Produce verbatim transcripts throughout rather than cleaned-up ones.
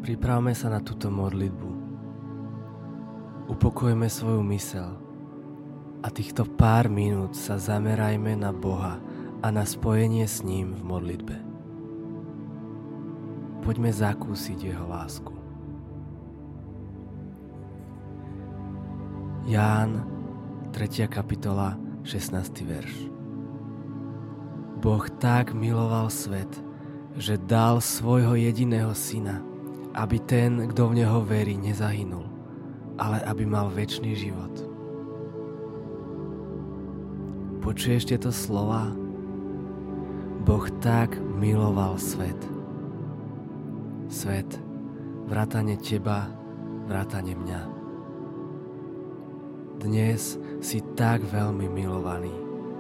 Pripravme sa na túto modlitbu. Upokojme svoju myseľ a týchto pár minút sa zamerajme na Boha a na spojenie s ním v modlitbe. Poďme zakúsiť jeho lásku. Ján, tretia kapitola, šestnásty verš. Boh tak miloval svet, že dal svojho jediného syna, aby ten, kto v neho verí, nezahynul, ale aby mal večný život. Počuješ tieto slova? Boh tak miloval svet. Svet, vrátane teba, vrátane mňa. Dnes si tak veľmi milovaný.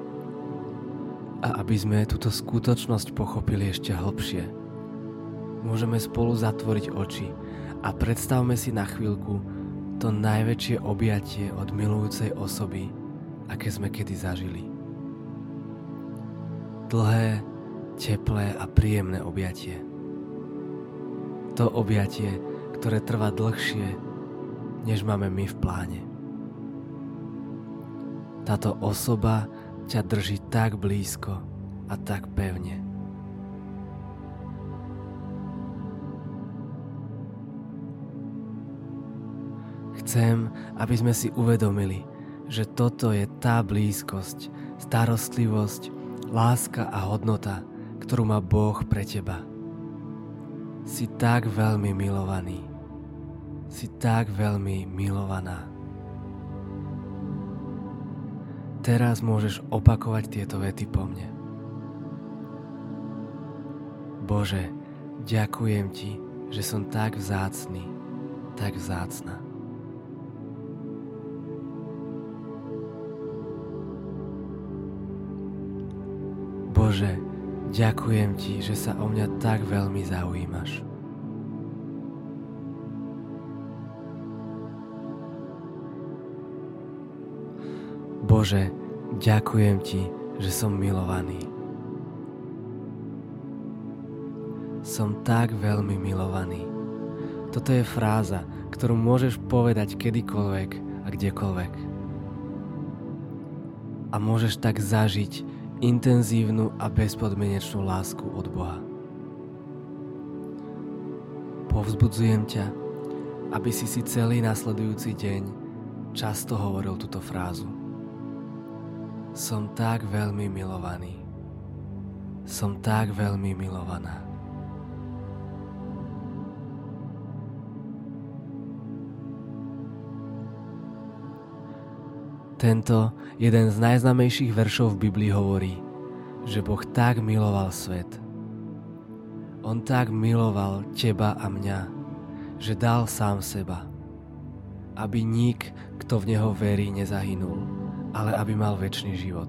A aby sme túto skutočnosť pochopili ešte hlbšie, môžeme spolu zatvoriť oči a predstavme si na chvíľku to najväčšie objatie od milujúcej osoby, aké sme kedy zažili. Dlhé, teplé a príjemné objatie. To objatie, ktoré trvá dlhšie, než máme my v pláne. Táto osoba ťa drží tak blízko a tak pevne. Chcem, aby sme si uvedomili, že toto je tá blízkosť, starostlivosť, láska a hodnota, ktorú má Boh pre teba. Si tak veľmi milovaný. Si tak veľmi milovaná. Teraz môžeš opakovať tieto vety po mne. Bože, ďakujem ti, že som tak vzácny, tak vzácna. Bože, ďakujem ti, že sa o mňa tak veľmi zaujímaš. Bože, ďakujem ti, že som milovaný. Som tak veľmi milovaný. Toto je fráza, ktorú môžeš povedať kedykoľvek a kdekoľvek. A môžeš tak zažiť intenzívnu a bezpodmienečnú lásku od Boha. Povzbudzujem ťa, aby si si celý nasledujúci deň často hovoril túto frázu. Som tak veľmi milovaný. Som tak veľmi milovaná. Tento jeden z najznámejších veršov v Biblii hovorí, že Boh tak miloval svet. On tak miloval teba a mňa, že dal sám seba, aby nik, kto v neho verí, nezahynul, ale aby mal večný život.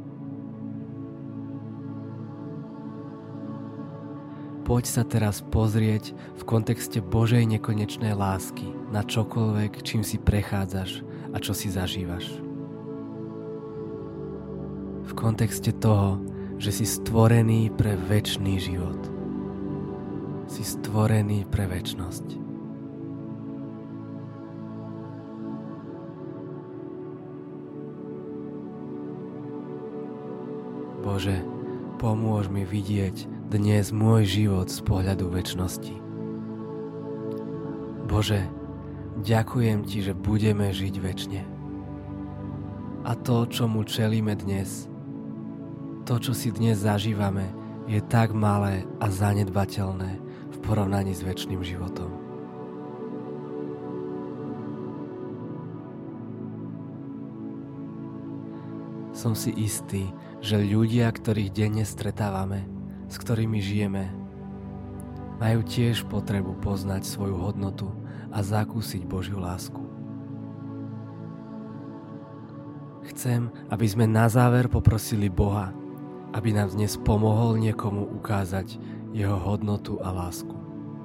Poď sa teraz pozrieť v kontexte Božej nekonečnej lásky na čokoľvek, čím si prechádzaš a čo si zažívaš. V kontexte toho, že si stvorený pre večný život. Si stvorený pre večnosť. Bože, pomôž mi vidieť dnes môj život z pohľadu večnosti. Bože, ďakujem ti, že budeme žiť večne. A to, čomu čelíme dnes, to, čo si dnes zažívame, je tak malé a zanedbateľné v porovnaní s večným životom. Som si istý, že ľudia, ktorých denne stretávame, s ktorými žijeme, majú tiež potrebu poznať svoju hodnotu a zakúsiť Božiu lásku. Chcem, aby sme na záver poprosili Boha, aby nám dnes pomohol niekomu ukázať jeho hodnotu a lásku.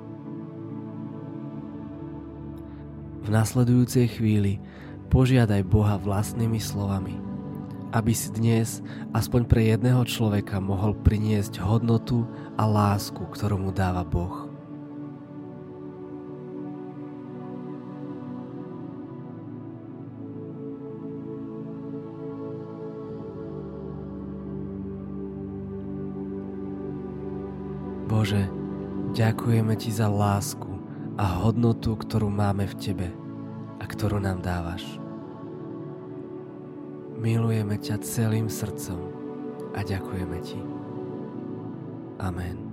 V nasledujúcej chvíli požiadaj Boha vlastnými slovami, aby si dnes aspoň pre jedného človeka mohol priniesť hodnotu a lásku, ktorú mu dáva Boh. Bože, ďakujeme Ti za lásku a hodnotu, ktorú máme v Tebe a ktorú nám dávaš. Milujeme ťa celým srdcom a ďakujeme Ti. Amen.